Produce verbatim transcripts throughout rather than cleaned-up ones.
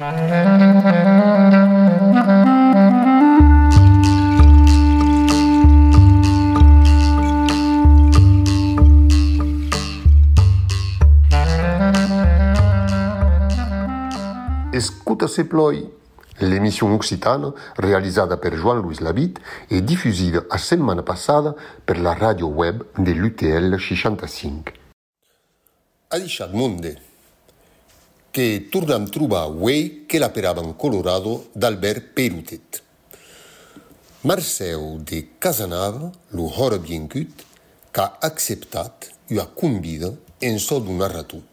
Escuta se ploi, l'émission occitane réalisada per Joan Luis Labitte e diffusida a setmana passada per la radio web de l'U T L seixanta-cinc. Ha deixat monde, que tornam trobar uei que l'aperaven Colorado d'Albert Perutet. Marceu de Casanava, lo hora biencut, qu'a acceptat ua convida en so d'un narrator.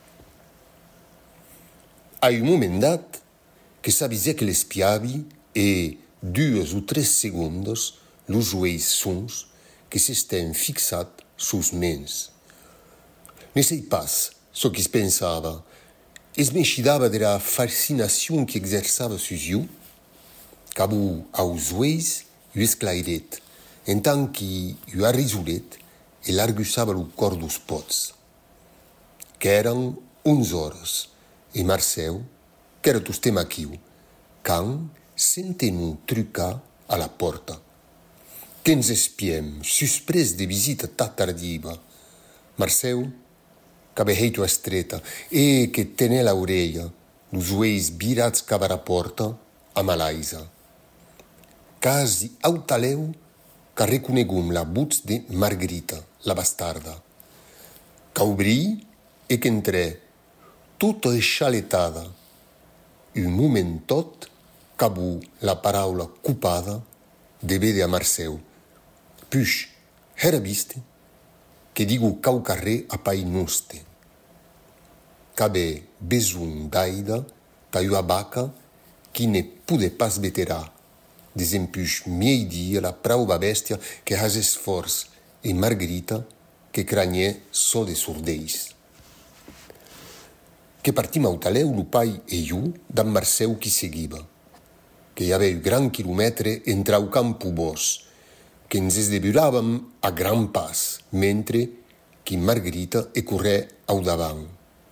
A un moment dat, que s'avisèc l'espiavi e dues o tres segundos los ueis sons que s'estèn fixat sus mens. Ne sei pas so qu'es pensava, es m'eixidava de la fascinacion que exerçava sus iu, cabo aos ueis u esclairet, en tant que u arrisolet e l'argussava lo cor dos pots. Qu'èran onze hores, e Marceu, qu'era tostem aquiu, quand sentenon trucar a la porta. Qu'ens espiem, suspres de visita ta tardiva. Marceu, qu'aveitu estreta, e que tenè l'aureia, los ueis virats cava a porta, a malaisa. Casi autaleu qu'a reconegum la voz de Margarita, la bastarda. Qu'aubrí e qu'entrè, tota esxaletada. Un moment tot, cabo la paraula cupada de vede a Marceu. Puix, era viste, que digo cau carrer a pai noste. Qu'abe beson d'aida, ca ua vaca, qui ne pude pas veterà. Desempuix miei dia la prauva bestia que has esforç, e Margarita, que craniè so de sordeis. Que partim autaleu lo pai e iu d'en Marceu qui seguiva, que hi aveu gran quilomètre entra au campu bos, que ens esdeburàvem a gran pas, mentre que Margarita e corrè au davant.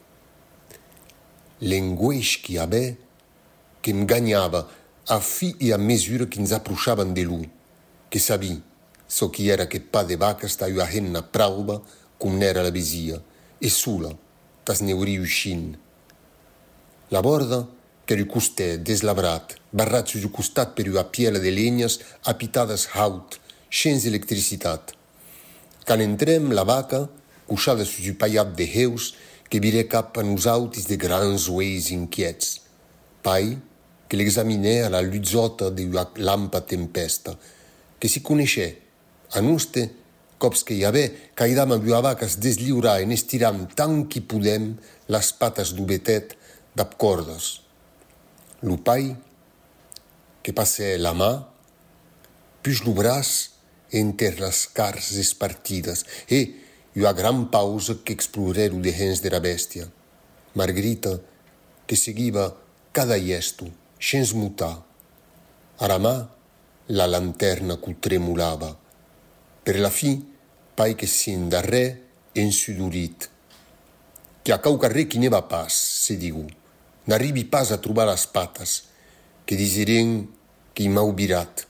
L'engueix qui avè, que em ganhava a fi e a mesura que ens aprochaven de lu, que sabí, so qui era que pa de vaca sta ua henna prauba cum n'era la besia, e sola, tas neuri uscin. La borda, qu'era costè deslabrat, barrat sus costat per ua piela de legnas apitadas haut, sens electricitat. Can entrem la vaca, cuixada sus un paiat de heus, que virè cap a nosautis de grans ueis inquiets. Pai, que l'examinè a la lutzota de ua lampa tempesta, que si coneixè, a noste, cops que hi avè, caidam a ua vaca es desliurà en estiram tant que podem las patas d'ubetet d'ap cordes. Lo pai, que passè la mà, puix lo braç enter las cars espartidas e ua gran pausa que explorèru de hens de la bestia. Margarita, que seguiva cada gesto, sens mutar. A la mà, la lanterna qu'u tremolava. Per la fi, pai que sin darrè ensudorit. Que a cau carrer qui ne va pas, se digu. N'arribi pas a trobar las patas, que disiren que m'au virat.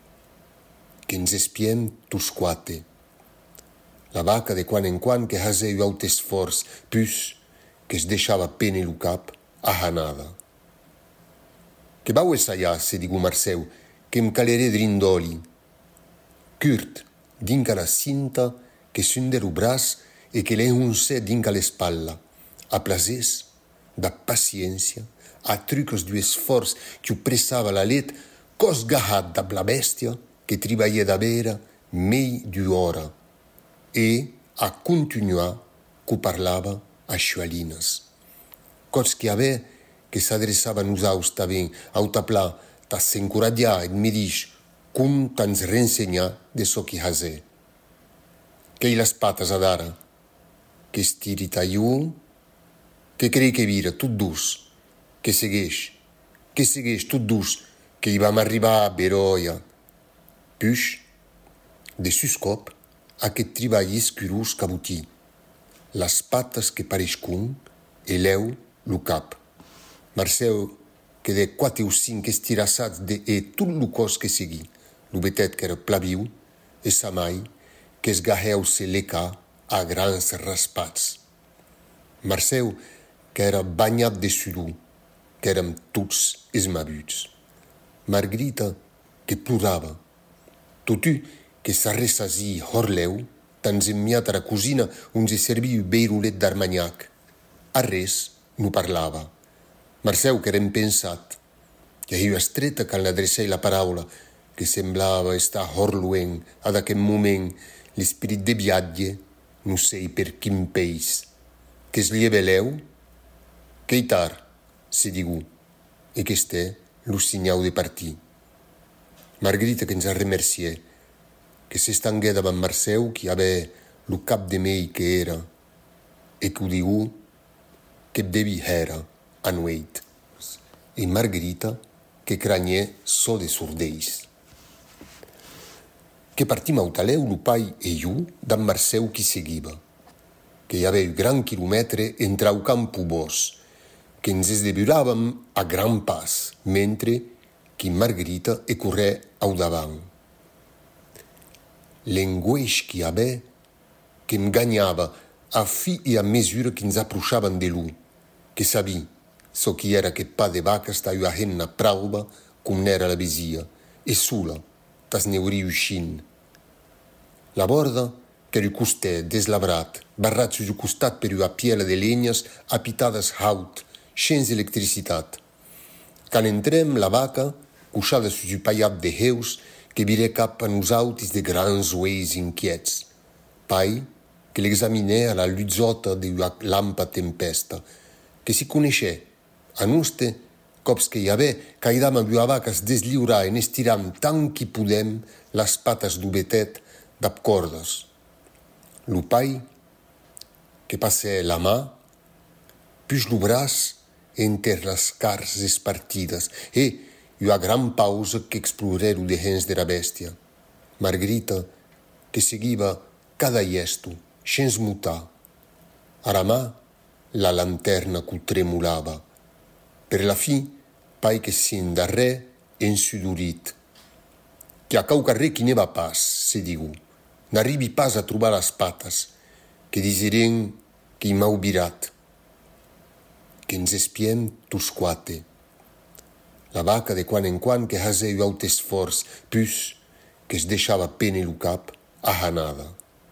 Que ens espiem tus quate. La vaca de quan en quan que hasè u aut esforç, pus que es deixava pene lo cap a hanada. Que vau essaiar, se digu Marceu, que em calerè drindoli. Curt, dinca la cinta, que sunder o braç e que l'enhuncè dinca l'espalla. A plasès, da paciència, a trucos du esforç que u pressava la let, cos gahat da la bestia que tribaie da vera mei d'ora e a continuar qu'u parlava a xualinas. Cos que avè que s'adreçava a nosaus taben, a taplà, ta s'encoradiar et me dix cum t'ans rensenyar de so que hasè. Qu'ei las patas adara, que estiri taiu, que crei que vira tot dus, que segueix, que segueix tot dus, que hi vam arribar a Beroia. Puix, de sus cop, aquest treball escurós cabotí, las patas que pareixcun e l'eu lo cap. Marceu que de quatre ou cinc estirassats de e tot lo cos que segui, lo betet qu'era plaviu, e sa mai, que esgaheu se leca a grans raspats. Marceu, que era bagnat de sudor, que érem tots esmabuts. Margarita, que plorava. Totu, que s'arressasi horleu, tans enmiat a la cosina on se serviu beirolet d'armagnac. A res no parlava. Marceu, que era impensat, que io estreta quan l'adrecei la paraula, que semblava estar horluent ad aquel moment l'esperit de viatge, no sei per quin país, que es lieveleu, que i tar, se digù, e que este lo signau de partir. Margarita que ens a remerciè, que s'estanguè davant Marceu, qui ave lo cap de mei que era, e que ho digù, que devi era a nueit. E Margarita, que craniè so de sordeis. Que partim autaleu lo pai e iu d'an Marceu qui seguiva, que hi aveu gran quilomètre entra au campo bos, que ens esdeburàvem a gran pas, mentre que Margarita e corrè au davant. L'engueix qui ave, que em ganhava a fi e a mesura que ens approchaven de lu, que sabi, so qui era que pa de vaca staiu a henna prauba cum n'era la besia, e sola, tas neuri uscin. La borda, che ru costè deslabrat, barrat su costat per una piela de legnas apitadas haut, sense electricitat. Can entrem la vaca, cuixada su su paiat de heus, que virè cap a nosautis de grans ueis inquiets. Pai, que l'examinè a la luzzota de una lampa tempesta, que si coneixè, a noste, cops que hi avè, caidam a una vaca es desliurà en estiram tant qui podem las patas du betet d'ap cordes. Lo pai, que passè la mà, puix lo braç enter las cars espartidas e una gran pausa che exploreru de hens de la bestia. Margarita, que seguiva cada gesto, sens mutar. A la mà, la lanterna cu tremulava. Per la fi, pai que sin darrè ensudorit. Que a cau carrer qui ne va pas, se digu. N'arribi pas a trobar las patas, que disiren que m'au virat. Que ens espiem tus quate. La vaca de quan en quan que haseu aut esforç, pus que es deixava pene lo cap a hanada.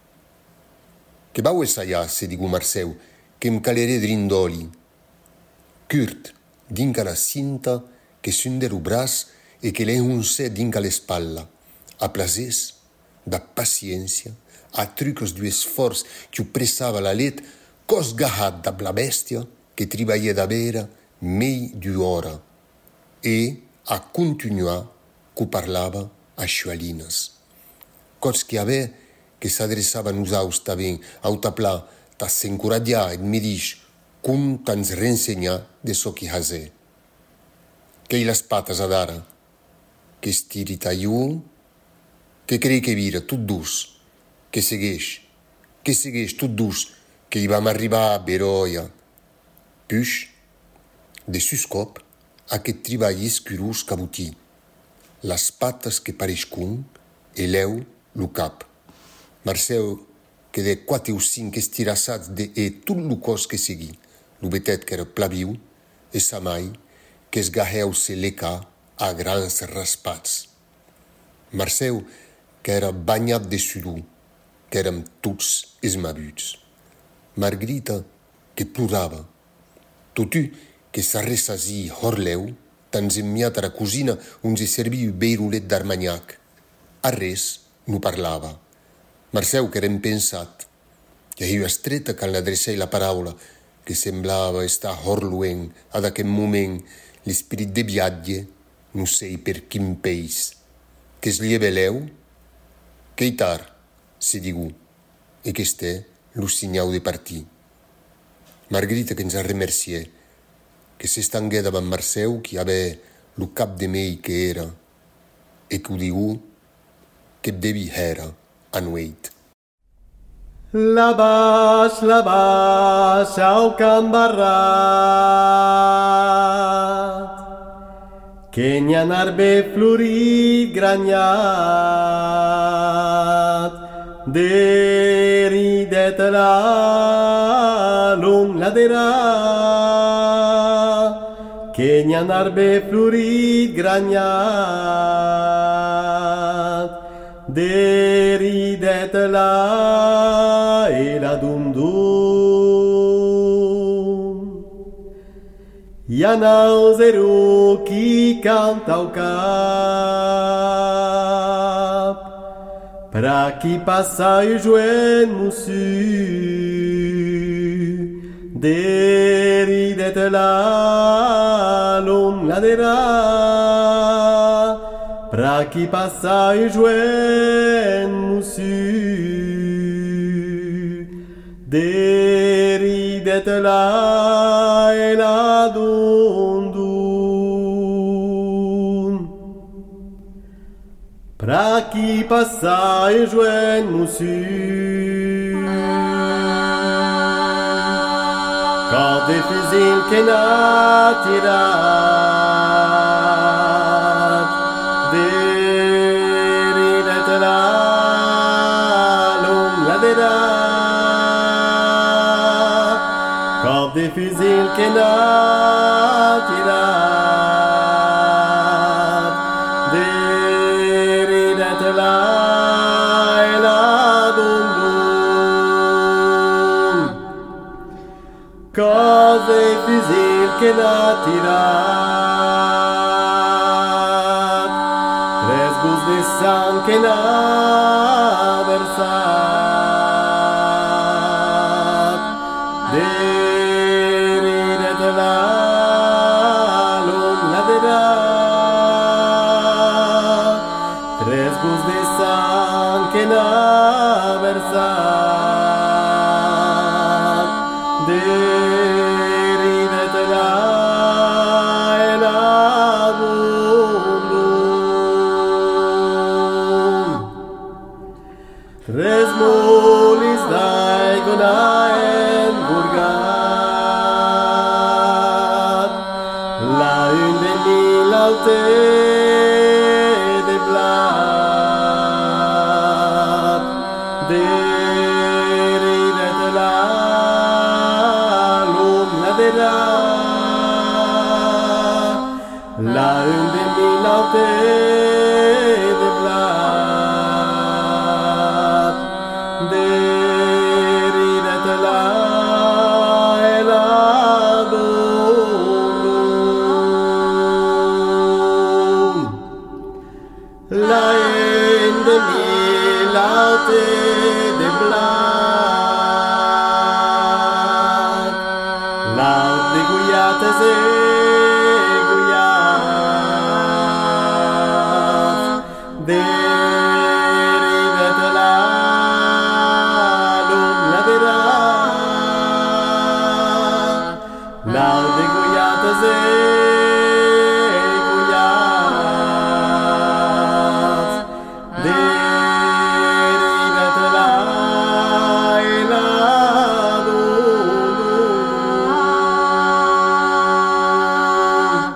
Que vau essaiar, se digu Marceu, que em caleré drindoli. Curt, dinca la cinta, que sunde lo braç e que l'è uncè dinca l'espalla. A plasès, da paciència, a trucos du esforç que ho pressava la let, cos gahat da la bestia que tribaie da vera mei d'ora. E a continuar que parlava a xualinas. Cos que avè que s'adreçava a nosaus taben, a taplà, ta s'encoradiar et me dix cum tans rensenyar de so qui hasè. Qu'ei las patas adara, que estiri taiu, que crei que vira tot dus, que segueix, que segueix tot dus, que hi vam arribar a Beroia. Puix, de sus cop, aquest treball escurós cabotí, las patas que parescun e l'eu lo cap. Marceu, que de quatre ou cinc estirassats de e tot lo cos que segui, lo betet qu'era plaviu, e sa mai, que esgaheu se leca a grans raspats. Marceu, que era bagnat de sudor, que érem tots esmabuts. Margarita, que plorava. Totu, que s'arressasi horleu, tans enmiat a la cosina on se serviu beirolet d'armagnac. A res no parlava. Marceu, que era impensat, que io estreta quan l'adrecei la paraula, que semblava estar horluent ad aquel moment l'esperit de viatge, no sei per quin país, que es lieveleu, que i tar, se digù, e que este lo signau de partir. Margarita que ens a remerciè, que s'estanguè davant Marceu, qui ave lo cap de mei que era, e que ho digù, que devi era a nueit. La vas, la vas, au camp barrat, che n'han arbe florit gragnat, deridet la lung ladera, che n'han arbe florit gragnat, deridet la e la dum dum. Ianau zero qui canta au cap, pra qui passa e joen moussu, deridet la lum ladera, pra qui passa e joen moussu, deridet la e la dum dum. Pra qui passa e joen moussu, quand des fusils que n'a tirat, deridet la lum ladera, quand des fusils que n'a tirat, deridet la e la dum dum. Quand des fusils que n'a tirat, tres gouttes de sang que n'a versat, deridet la lum ladera, tres gouttes de sang que n'a versat, deridet la e la dum dum. Tres molis d'aegonaen burgat, la une de mille alte de blat, deridet la lum ladera, la une de mille alte de blat, deridet la e la dum dum. La une de mille alte de blat, l'aut de guiates e guiats, deridet la lum ladera, l'aut de guiates e guiats, deridet la e la dum dum.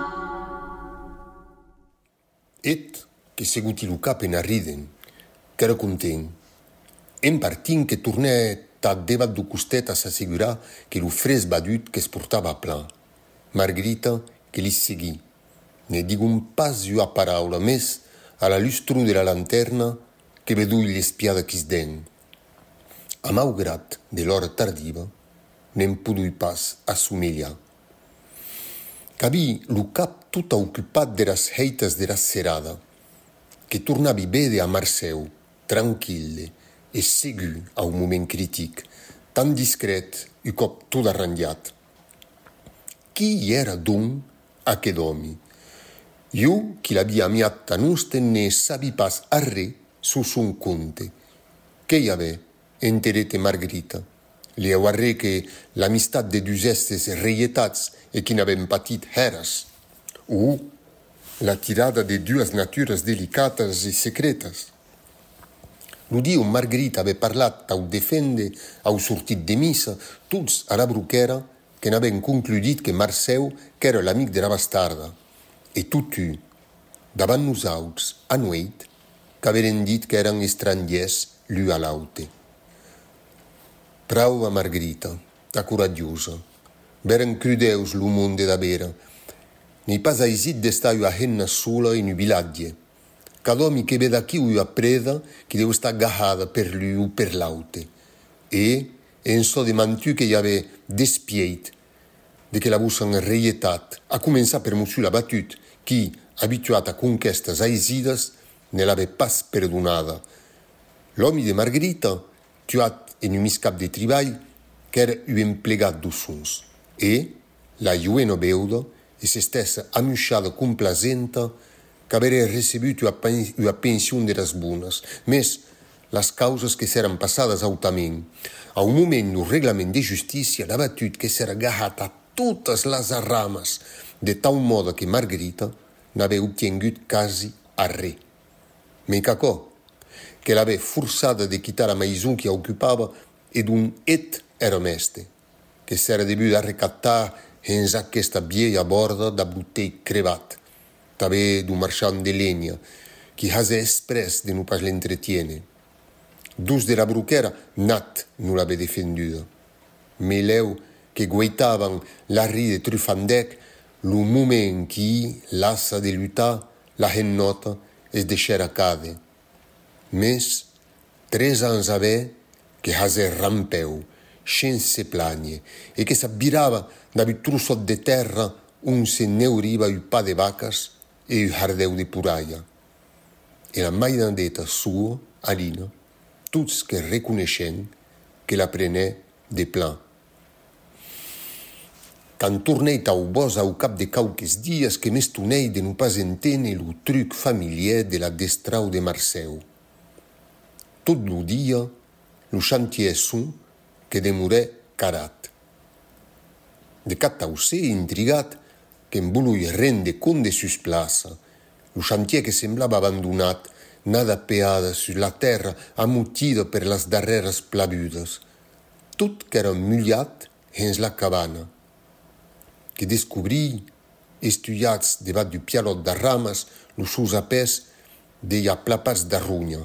Et que seguti lu cap en arriden, qu'era content. En partin que tornè tad debat du costet a s'assegurar que lu fres badut que es portava a plan. Margarita que li seguí. Ne digun pas ua paraula mes a la lustru de la lanterna que vedui l'espiada quis den. A maugrat de l'hora tardiva, n'en pudui pas assomigliar. Cabí lu cap tuta ocupat de las heitas de la serada, que tornavi vede a Marceu, tranquille e segur a un moment critic, tan discret e cop tot arrangiat. Qui era donc aqueth homi? Jo, qui l'havia amiat tan usten, ne sabi pas arre su son conte. Che i ave enterete Margarita? Li auarré que l'amistat de dus estes reietats e qui n'avem patit heras, o la tirada de duas naturas delicatas e secretas. L'udio Margarita ave parlat au defende, au sortit de missa, tuts a la bruchera, que n'avem concludit que Marceu qu'era l'amic de la bastarda, e tutu davant nosaltres, a nuit, qu'averen dit que eren estrangers l'u a l'aute. Prau a Margherita, a coraggiosa, veren crudeus lo monde da vera, ni pas aisit d'estar a henna sola in un vilatge. Cada home che veda chi u a preda che deu sta agarrada per lui o per l'aute. E, en so de mantu che ave despieit, de che la bussan reietat, a començar per Monsieur la batut, qui, abituat a conquestas aisidas, ne l'ave pas perdonada. L'home de Margherita, tuat en un miscap de treball, qu'era u emplegat d'ussons. E, la juena beuda, e s'estessa amusciada complacenta, qu'avere recebut una, pen- una pensione de las bunas, mes las causas que s'eran passadas autament. A un moment no reglament de justícia, la batut que s'era agarrat a totes las arramas, de tal modo que Margherita n'avea obtingut quasi a re. Me cacò, que l'avea forçada de quitar a maison que ocupava ed un et era meste, que s'era debut a recattar en aquesta vieja borda da botei crevat, també d'un marchand de legna, qui hase express de no pas l'entretiene. Dus de la bruquera, nat no l'ave defenduda. Meleu que guaitavan la ride trufandec, lo moment qui, lassa de lutar, la hennota es deixera cade. Mes, tres ans ave, que hase rampeu, sense plagne, e que s'abbirava d'avi trussot de terra un se neuriva u pa de vacas e u hardeu de puraia. E la maidandeta sua, Alina, tuts que reconeixen que la prenè de plan. Quand tornei tau bos au cap de cauques dies que m'estonei de no pas entene lo truc familiar de la destrau de Marceu. Tot lo dia, lo chantier son que demorè carat. De cat tausè intrigat que en volui rende compte de sus plaça, lo chantier que semblava abandonat, nada peada sur la terra amutida per las darreras plavudes, tot qu'era mullat hens la cabana, que descobrí, estudiats debat du pialot de ramas, los sus apès deia plapats de runha.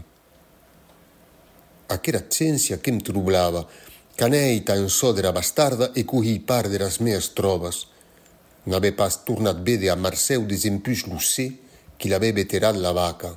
Aquera ciència que em troblava, canei tan so dera bastarda e cohi part de las meas trobas. N'ave pas tornat vede a Marceu desempus lo sé qui l'ave veterat la vaca.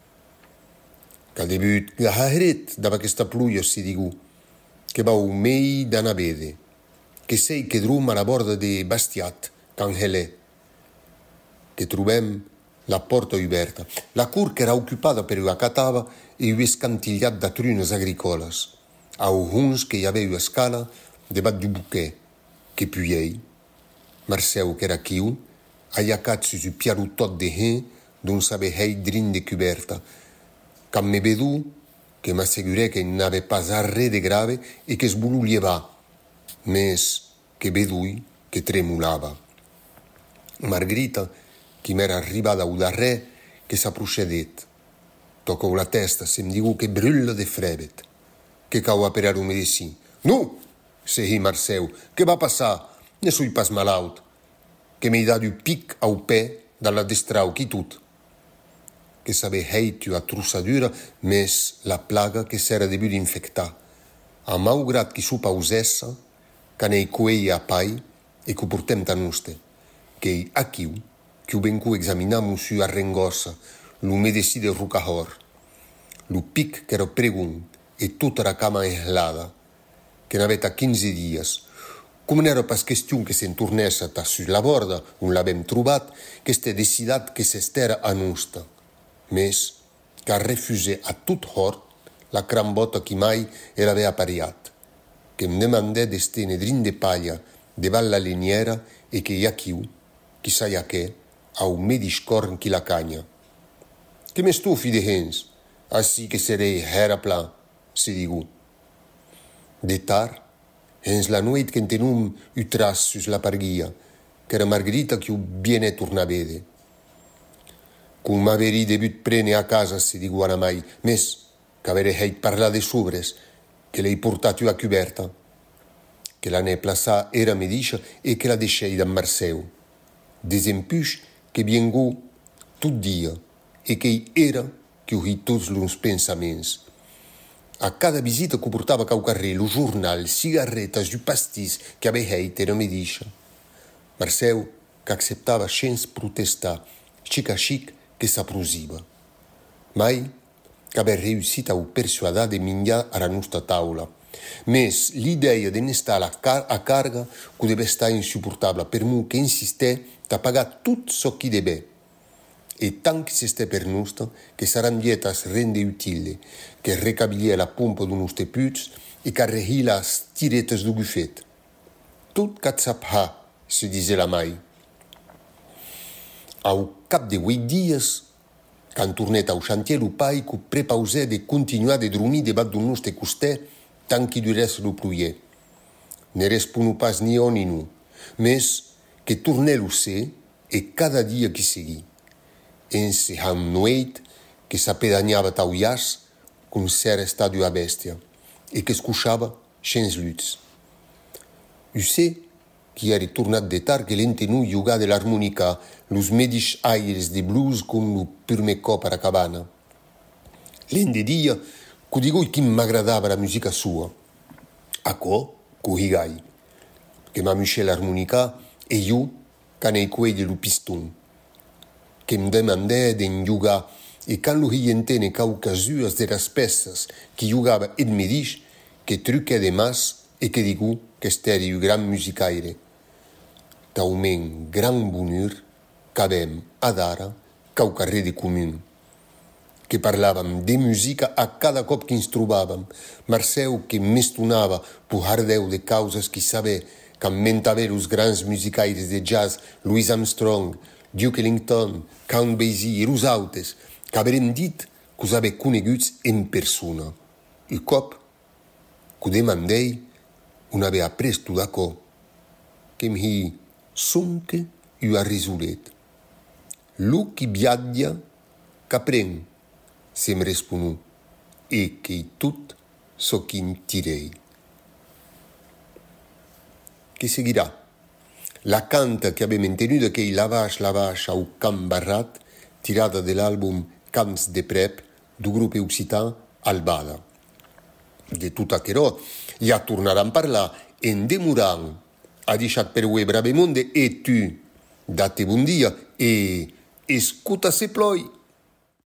Qu'al debut gahret dava aquesta pluia si digu, que vau mei d'ana vede, que sei que drum a la borda de Bastiat, can Helè, que trobem la porta oberta. La cur que era ocupada per una catava e un escantillat de trunes agricoles, a uns que hi havia una escala debat du buquet, que puiei. Marceu, que era quiu, aiacat sus un piarutot de hen d'un sabehei drin de coberta, quand me vedu, que m'assegurè que n'avait pas arre de grave e que es volu llevar, mes que vedui que tremulava. Margherita, qui m'era arribada au darrer, que s'aprochedet. Tocou la testa, se'm digu que brulla de frebet. Que cau a perar un medici. Nu, sehi Marceu, que va passar? Ne sui pas malaut. Que m'ei dat un pic au pè dalla destrau qui tut. Que s'ave heitu a trussadura, mes la plaga que s'era debut d'infectar. A maugrat qui su pausessa, canei coei a pai e que portem tan uste. Que aquiu, que ho vencu examinar monsieur Arrengossa, lo medeci de Rucahor. Lo pic que era pregun e tota la cama enhelada, que n'aveta quinze dies. Com n'era pas question que se'n tornessa ta sus la borda, on l'avem trobat, que este decidat que s'estera a nusta. Mes, qu'a refusé a tot hort la crambota qui mai era avea pariat, que em demandè d'estene drin de palla devant la leniera e que hi ha quiu, qui sa ja què, a un mediscorn qui la canya. Que m'estufi de hens, así que serei hera plan, se digu. De tar, hens la nuit que en tenum u tras sus la parguia, que era Margherita qui u biene torna a vede. Cum m'averi debut prene a casa, se digu ana mai, mes, qu'avere heit parlar de sobres, que l'ei portat a coberta, que la ne plaçà era mediscia e que la deixei d'en Marceu. Desempus que viengu tot dia, e que era que o ri tots los pensaments. A cada visita que portava cau carrer, lo jornal, cigarretas e pastís que aveit era medixa. Marcel, que acceptava sense protestar, chic a chic que s'aprosiva. Mai que aveva riuscit a o persuadar de minjar a la nostra taula. Mes l'idea de n'estar a, car a carga que deve estar insuportable per mu che insisté a pagar tot so chi deve. E tant che s'estè per nostra, che saran dietas rende utile, che recabilia la pompa d'un nostre puts e che arrehila las tiretes du buffet. Tot cazzap ha, se disait la mai. Au cap de huit dies, quand tornet au chantier, lo pai que prepausè de continuar de dormir debat d'un nostre costè tant que durès lo pluier. Ne respono pas ni on ni nu, mes que tornè lo ser e cada dia que segui. Ense han noeit que s'apedagnava tau ias con ser estadio a bestia e que escuchava sens luts. Usse qui era tornat de tard que l'entenu jugar de l'harmonica los medis aires de blues con lo prime cop a la cabana. L'ende dia que digoi chi m'agradava la musica sua. Aco, cu higai, che m'amusce l'harmonica e io canei quei de lo piston. Que me demandè d'en jugar e quand lo hientene caucasuas de las peças qui jugava ed me dix que truque de mas e que digu que esteri un gran musicaire. Taument gran bonheur qu'avem ad ara cau carrer de comun. Que parlàvem de musica a cada cop que ens trobàvem. Marcel que m'estonava pujardeu de causes qui sabé qu'ammentava los grans musicaires de jazz Louis Armstrong, Duke Ellington, Count Basie e los autes, qu'averem dit qu'us ave coneguts en persona. Un cop que demandei, un ave après tot d'acò, que m'hi sonque u arrisolet. Lo qui viatja, qu'apren, se me responu, e che tot so qu'in tirei. Che seguirà? La canta che abbiamo tenuta che lavage lavage au camp barrat, tirata dell'album Camps de Prep du gruppo occitan Albada. De tot aquerò ja tornaran a parlar en demorant. Ha deixat per ue Bravemonde e tu. Date bon dia e escuta se ploi.